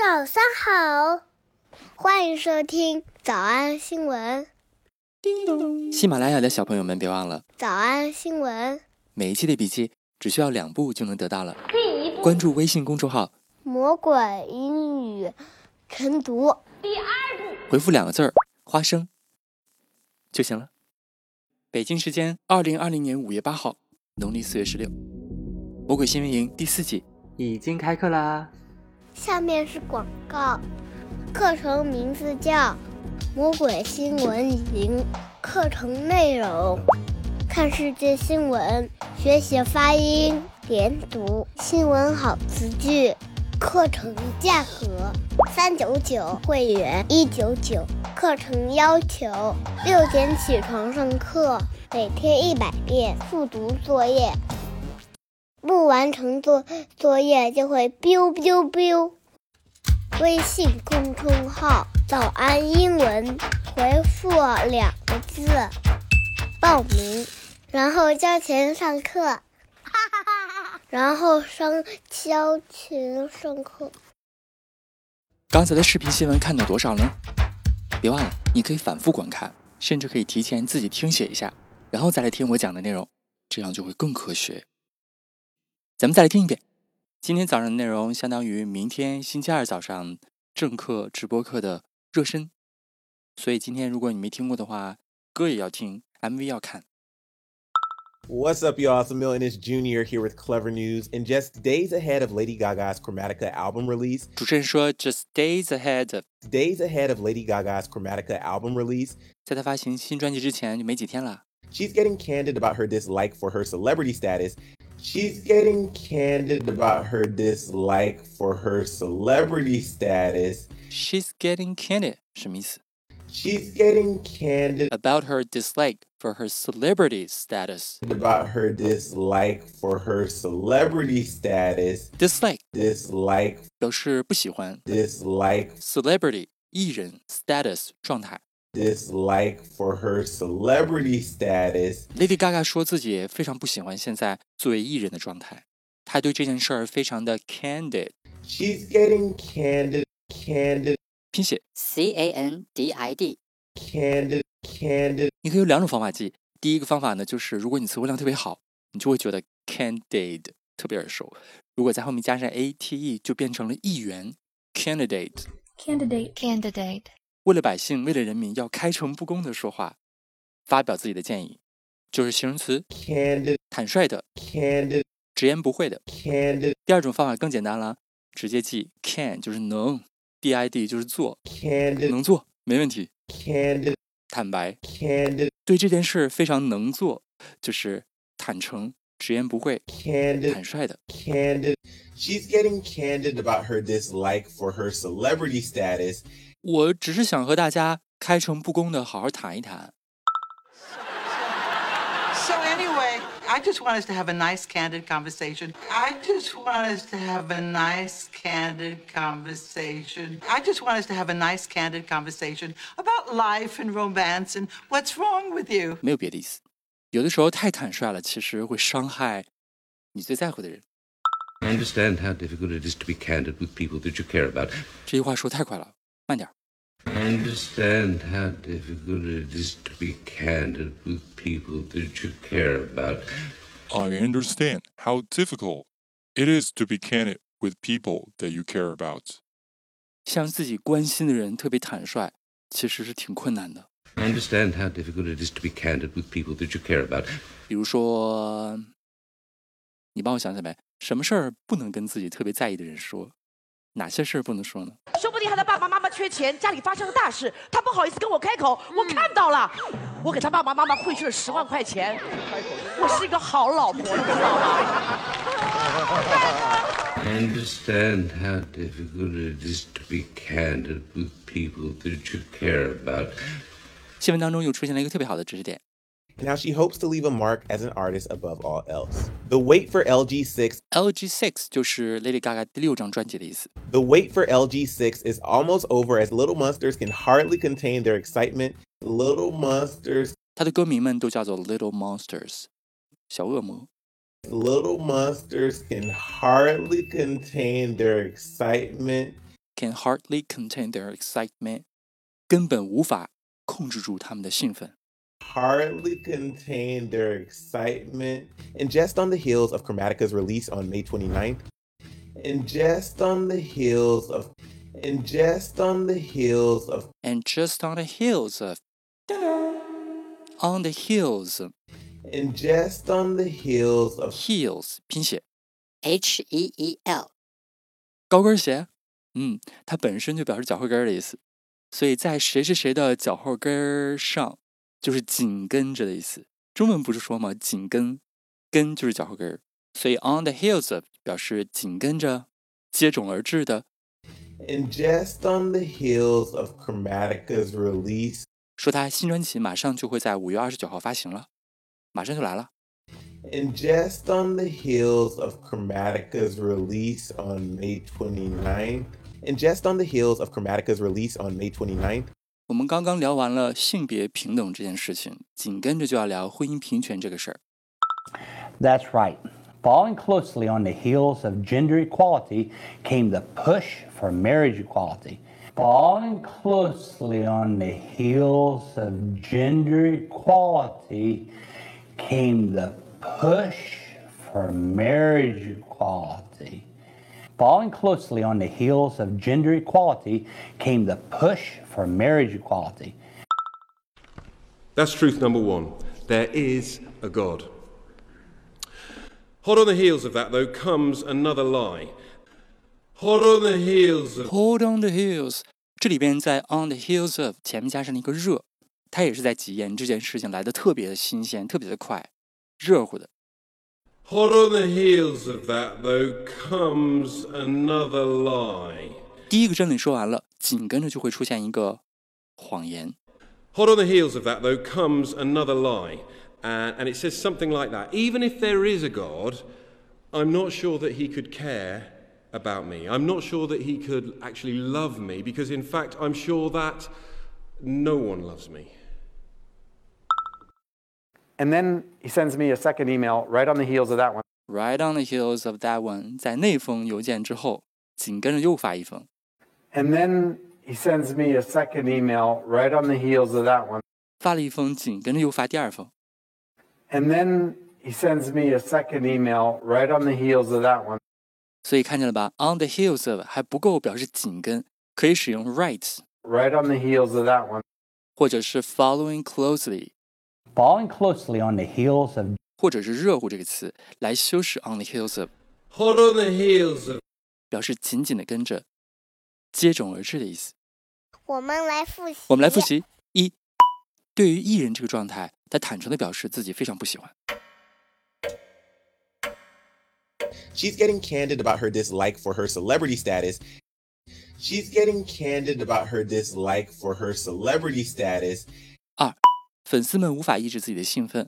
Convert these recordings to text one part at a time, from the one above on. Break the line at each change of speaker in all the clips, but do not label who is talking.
早上好，欢迎收听早安新闻。
叮咚！喜马拉雅的小朋友们别忘了，
早安新闻
每一期的笔记只需要2步就能得到了。关注微信公众号
魔鬼英语晨读，
第2步
回复2个字花生就行了。北京时间2020年5月8号，农历4月16，魔鬼新闻营第4季已经开课啦。
下面是广告，课程名字叫魔鬼新闻营，课程内容看世界新闻，学习发音连读，新闻好词句。课程价格399，会员199。课程要求6点起床上课，每天100遍复读作业，不完成作业就会 biu biu biu。微信公众号早安英文，回复2个字报名，然后交钱上课，然后交钱上课。
刚才的视频新闻看到多少呢？别忘了，你可以反复观看，甚至可以提前自己听写一下，然后再来听我讲的内容，这样就会更科学。咱们再来听一遍。今天早上的内容相当于明天星期二早上正课直播课的热身，所以今天如果你没听过的话，歌也要听， MV 要看。
What's up, y'all? It's Emil Jr. here with Clever News. And just days ahead of Lady Gaga's Chromatica album release,
主持人说 just days ahead
of Lady Gaga's Chromatica album release,
在她发行新专辑之前就没几天了。
she's getting candid about her dislike for her celebrity status. She's getting candid about her dislike for her celebrity status.
She's getting candid 什么意思？
She's getting candid
About her dislike for her celebrity status.
about her dislike for her celebrity status.
Dislike 表示不喜欢。
Dislike
Celebrity 艺人 status 状态。
Dislike for her celebrity status.
Lady Gaga 说自己非常不喜欢现在作为艺人的状态，她对这件事儿非常的 candid。
She's getting candid
拼写
CANDID。
candid
你可以有2种方法记。第一个方法呢，就是如果你词汇量特别好，你就会觉得 candid 特别耳熟，如果在后面加上 ate 就变成了议员 candidate。 为了百姓，为了人民，要开诚布公的说话，发表自己的建议，就是形容词
candid
坦率的，
candid
直言不讳的。
candid
第2种方法更简单了，直接记 can 就是能， did 就是做，
candid
能做没问题，
candid
坦白，
candid
对这件事非常能做，就是坦诚直言不讳，
candid
坦率的。
candid. She's getting candid about her dislike for her celebrity status.
我只是想和大家开诚布公的好好谈一谈。
So anyway, I just want us to have a nice, candid conversation. I just want us to have a nice, candid conversation. I just want us to have a nice, candid conversation about life and romance and what's wrong with you.
没有别的意思，有的时候太坦率了，其实会伤害你最在乎的人。
I understand how difficult it is to be candid with people that you care about.
这句话说太快了，慢点。
I understand how difficult it is to be candid with people that you care about.
I understand how difficult it is to be candid with people that you care about.
向自己关心的人特别坦率，其实是挺困难的。
I understand how difficult it is to be candid with people that you care about.
比如说，你帮我想想呗，什么事儿不能跟自己特别在意的人说？哪些事儿不能说呢？
说不定他的爸爸妈妈缺钱，家里发生了大事，他不好意思跟我开口，我看到了，我给他爸爸妈妈汇去了10万块钱，我是一个好老婆，你知道吗？
I understand how difficult it is to be candid with people that you care about.
新闻当中又出现了一个特别好的知识点。
Now she hopes to leave a mark as an artist above all else. The wait for LG6.
LG6 就是 Lady Gaga 第6张专辑的意思。
The wait for LG6 is almost over as Little Monsters can hardly contain their excitement. Little Monsters.
他的歌迷们都叫做 Little Monsters， 小恶魔。
Little Monsters can hardly contain their excitement.
can hardly contain their excitement， 根本无法控制住他们的兴奋。
Hardly contain their excitement. And just on the heels of Chromatica's release on May 29th. And just on the heels of. And just on the heels of.
And just on the heels of. On the heels.
And just on the heels of.
Heels 拼写
HEEL。
高跟鞋，它本身就表示脚后跟的意思，所以在谁谁谁的脚后跟上，就是紧跟着的意思。中文不是说吗？紧跟，跟就是脚后跟，所以 on the heels of 表示紧跟着，接踵而至的。
And just on the heels of Chromatica's release，
说他新专辑马上就会在5月29号发行了，马上就来了。
And just on the heels of Chromatica's release on May 29th. And just on the heels of Chromatica's release on May 29th.
我们刚刚聊完了性别平等这件事情，紧跟着就要聊婚姻平权这个事儿。
That's right. Following closely on the heels of gender equality came the push for marriage equality. Following closely on the heels of gender equality came the push for marriage equality. Following closely on the heels of gender equality came the push for marriage equality.
That's truth number one. There is a God. Hot on the heels of that, though, comes another lie. Hot on the heels of...
Hot on the heels， 这里边在 on the heels of 前面加上了一个热，它也是在体验这件事情来的特别的新鲜，特别的快，热乎的。
Hot on the heels of that, though, comes another lie.
第一个真理说完了，紧跟着就会出现一个谎言。
Hot on the heels of that, though, comes another lie. And it says something like that. Even if there is a God, I'm not sure that he could care about me. I'm not sure that he could actually love me, because in fact, I'm sure that no one loves me.
And then he sends me a second email right on the heels of that one.
Right on the heels of that one， 在那封邮件之后，紧跟着又发一封。
And then he sends me a second email right on the heels of that one.
发了一封，紧跟着又发第二封。
And then he sends me a second email right on the heels of that one.
所以看见了吧 ？On the heels of 还不够表示紧跟，可以使用 right
on the heels of that one，
或者是 following closely
on the heels of，
或者是热乎这个词来修饰 on the heels of。
Hot on the heels of
表示紧紧的跟着，接踵而至的意思。
我们来复习。
一，对于艺人这个状态，他坦诚地表示自己非常不喜欢。
She's getting candid about her dislike for her celebrity status. She's getting candid about her dislike for her celebrity status.
二，粉丝们无法抑制自己的兴奋。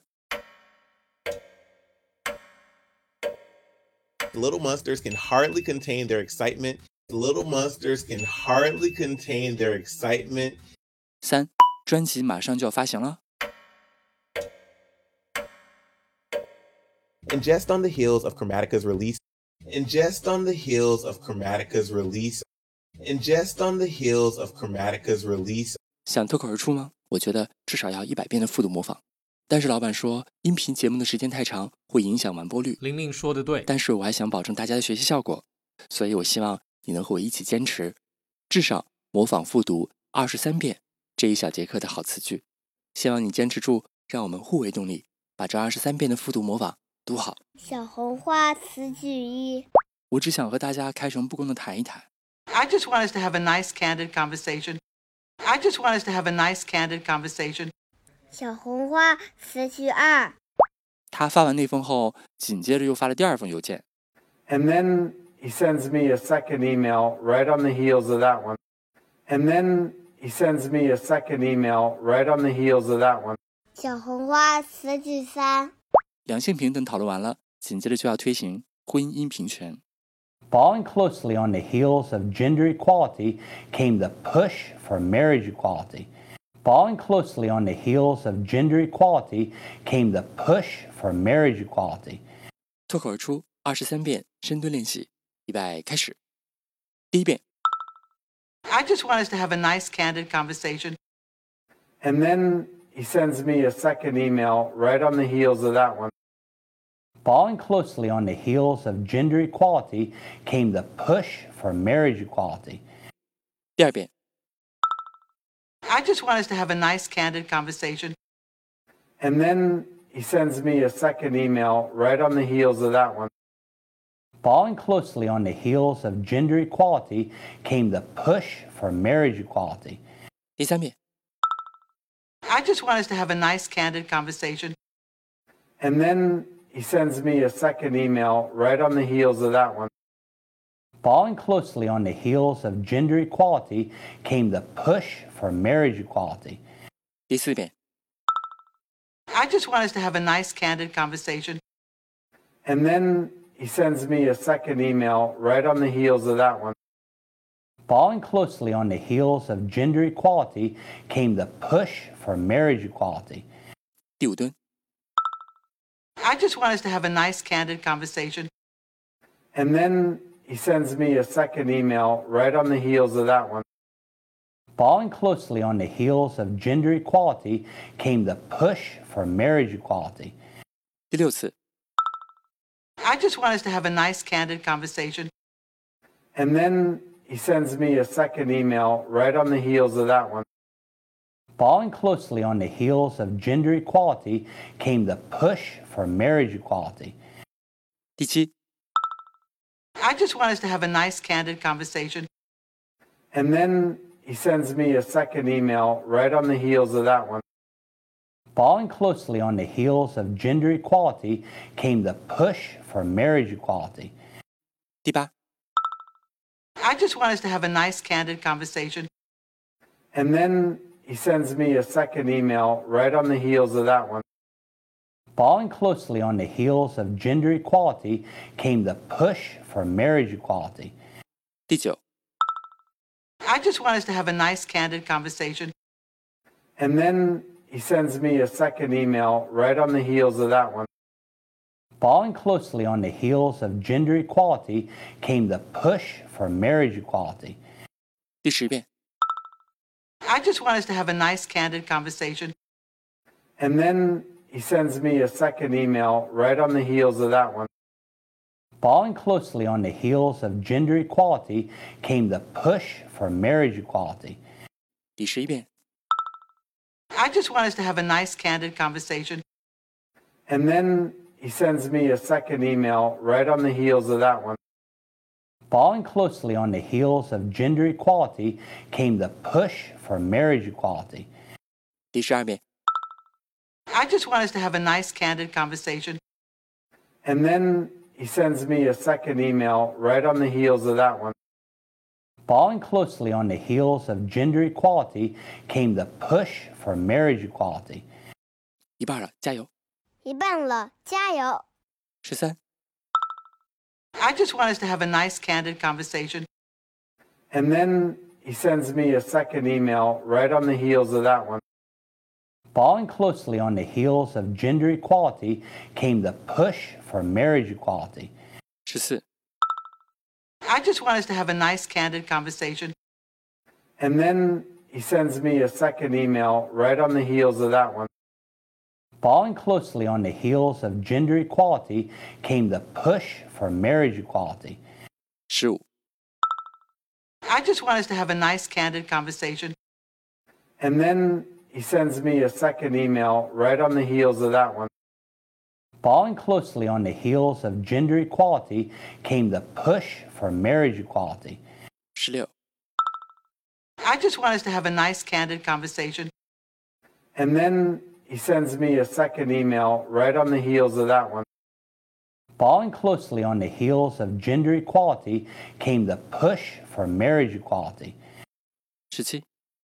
Little monsters can hardly contain their excitement. Little monsters can hardly contain their excitement.
三，专辑马上就要发行了。
And just on the heels of Chromatica's release. And just on the heels of Chromatica's release. And just on the heels of Chromatica's release.
想脱口而出吗？我觉得至少要100遍的复读模仿。但是老板说，音频节目的时间太长，会影响完播率。
玲玲说的对，
但是我还想保证大家的学习效果，所以我希望你能和我一起坚持，至少模仿复读23遍这一小节课的好词句。希望你坚持住，让我们互为动力，把这23遍的复读模仿读好。
小红花词句1，
我只想和大家开诚布公地谈一谈。
I just want us to have a nice, candid conversation. I just want us to have a nice, candid conversation.
小红花词句2，
他发完那封后，紧接着又发了第二封邮件。
And then he sends me a second email right on the heels of that one. And then he sends me a second email right on the heels of that one.
小红花词句3，
两性平等讨论完了，紧接着就要推行婚姻平权。
Following closely on the heels of gender equality came the push for marriage equality. Following closely on the heels of gender equality came the push for marriage equality.
脱口而出23遍深蹲练习，预备开始。第一遍
I just want us to have a nice, candid conversation.
And then he sends me a second email right on the heels of that one.
Following closely on the heels of gender equality came the push for marriage equality.
第二遍。
I just want us to have a nice, candid conversation.
And then he sends me a second email right on the heels of that one.
Following closely on the heels of gender equality came the push for marriage equality.
第三遍。
I just want us to have a nice, candid conversation.
And then he sends me a second email right on the heels of that one.
Following closely on the heels of gender equality came the push for marriage equality.
第四遍。
I just want us to have a nice, candid conversation.
And then he sends me a second email right on the heels of that one.
Following closely on the heels of gender equality came the push for marriage equality.
第五蹲。
I just want us to have a nice, candid conversation.
And then he sends me a second email right on the heels of that one.
Following closely on the heels of gender equality came the push for marriage equality.
第六次。
I just want us to have a nice, candid conversation.
And then he sends me a second email right on the heels of that one.
Following closely on the heels of gender equality came the push for marriage equality.
第七。
I just want us to have a nice, candid conversation.
And then he sends me a second email right on the heels of that one.
Following closely on the heels of gender equality came the push for marriage equality.
第八。
I just want us to have a nice, candid conversation.
And then he sends me a second email right on the heels of that one.
Following closely on the heels of gender equality came the push for marriage equality.
第九。
I just want us to have a nice, candid conversation.
And then he sends me a second email right on the heels of that one.
Following closely on the heels of gender equality came the push for marriage equality.
第十遍。
I just want us to have a nice, candid conversation.
And then he sends me a second email right on the heels of that one.
Following closely on the heels of gender equality came the push for marriage equality.
第11遍。
I just want us to have a nice, candid conversation.
And then he sends me a second email right on the heels of that one.
Following closely on the heels of gender equality came the push for marriage equality.
第12遍。
I just want us to have a nice, candid conversation.
And then he sends me a second email right on the heels of that one.
Following closely on the heels of gender equality came the push for marriage equality.
一半了，加油！
一半了，加油
！13。
I just want us to have a nice, candid conversation.
And then he sends me a second email right on the heels of that one.
Following closely on the heels of gender equality came the push for marriage equality.
14。
I just want us to have a nice, candid conversation.
And then he sends me a second email right on the heels of that one.
Following closely on the heels of gender equality came the push for marriage equality.
15。
I just want us to have a nice, candid conversation.
And then he sends me a second email right on the heels of that one.
Following closely on the heels of gender equality came the push for marriage equality.
16。
I just want us to have a nice, candid conversation.
And then he sends me a second email right on the heels of that one.
Following closely on the heels of gender equality came the push for marriage equality.
17。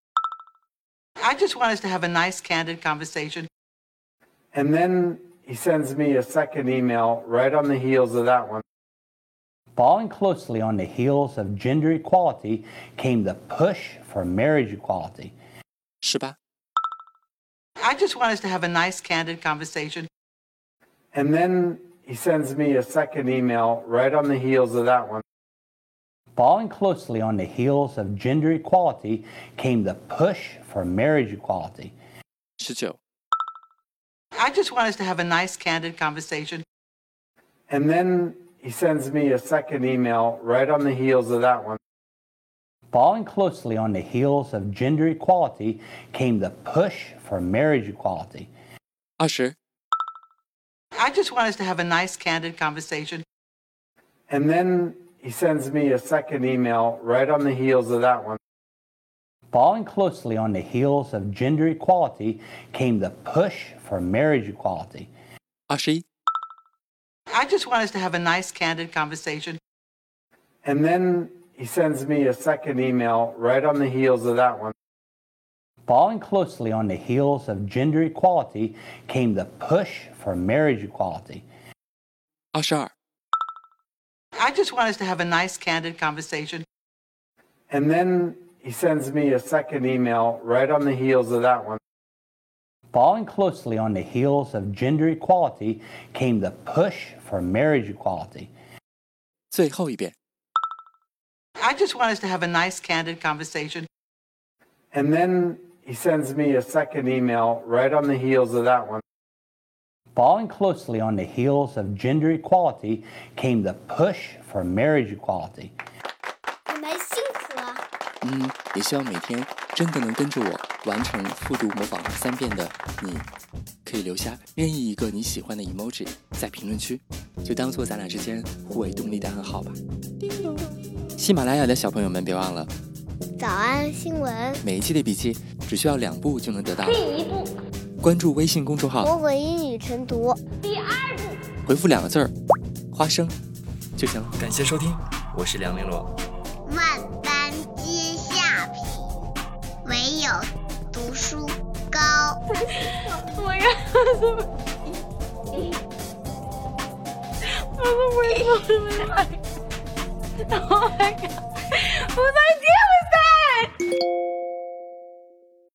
I just want us to have a nice, candid conversation.
And then he sends me a second email right on the heels of that one.
Following closely on the heels of gender equality came the push for marriage equality.
18。
I just want us to have a nice, candid conversation.
And then he sends me a second email right on the heels of that one.
Following closely on the heels of gender equality came the push for marriage equality.
19.
I just want us to have a nice, candid conversation.
And then he sends me a second email right on the heels of that one.
Following closely on the heels of gender equality came the push for marriage equality.
20.
I just want us to have a nice, candid conversation.
And then he sends me a second email right on the heels of that one.
Following closely on the heels of gender equality came the push for marriage equality.
21.
I just want us to have a nice, candid conversation.
And then he sends me a second email right on the heels of that one.
Following closely on the heels of gender equality came the push for marriage equality.
22.
I just want us to have a nice, candid conversation.
And then he sends me a second email right on the heels of that one.
Following closely on the heels of gender equality came the push for marriage equality.
最后一遍。
I just want us to have a nice, candid conversation.
And then he sends me a second email right on the heels of that one.
Following closely on the heels of gender equality came the push for marriage equality.
你们辛苦了。
也希望每天真的能跟着我完成复读模仿3遍的你，可以留下任意一个你喜欢的 emoji 在评论区，就当做咱俩之间互为动力的暗号吧。喜马拉雅的小朋友们别忘了，
早安新闻，
每一期的笔记只需要2步就能得到。
第1步，
关注微信公众号
魔鬼英语晨读；第2步，
回复2个字花生就行了。感谢收听，我是梁玲珑。
万般皆下品，唯有读书高。Oh my god！ 我为什么来？Oh my god！ 我在。